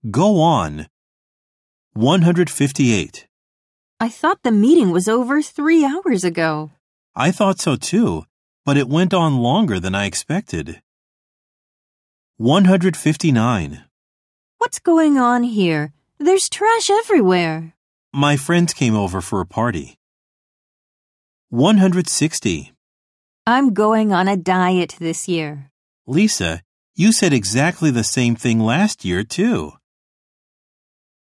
Go on. 158. I thought the meeting was over 3 hours ago. I thought so too, but it went on longer than I expected. 159. What's going on here? There's trash everywhere. My friends came over for a party. 160. I'm going on a diet this year. Lisa, you said exactly the same thing last year too.